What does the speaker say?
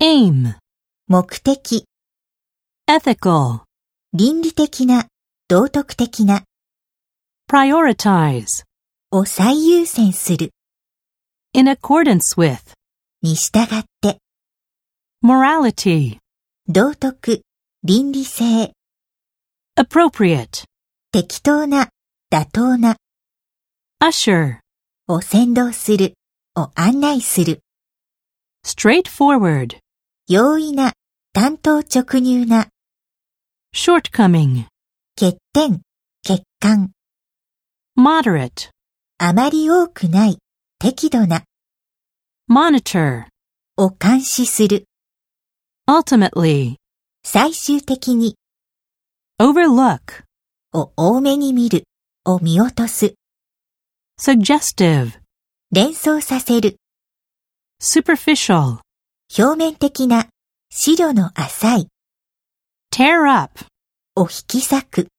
aim, 目的、 ethical, 倫理的な、道徳的な、 prioritize, を最優先する、 in accordance with, に従って、 morality, 道徳、倫理性、 appropriate, 適当な、妥当な、 usher, を先導する、を案内する、 straightforward, 容易な、単刀直入な、 shortcoming, 欠点、欠陥、 moderate, あまり多くない、適度な、 monitor, を監視する、 ultimately, 最終的に、 overlook, を多めに見る、を見落とす、 suggestive, 連想させる、 superficial, 表面的な、視力の浅い、 tear up, を引き裂く。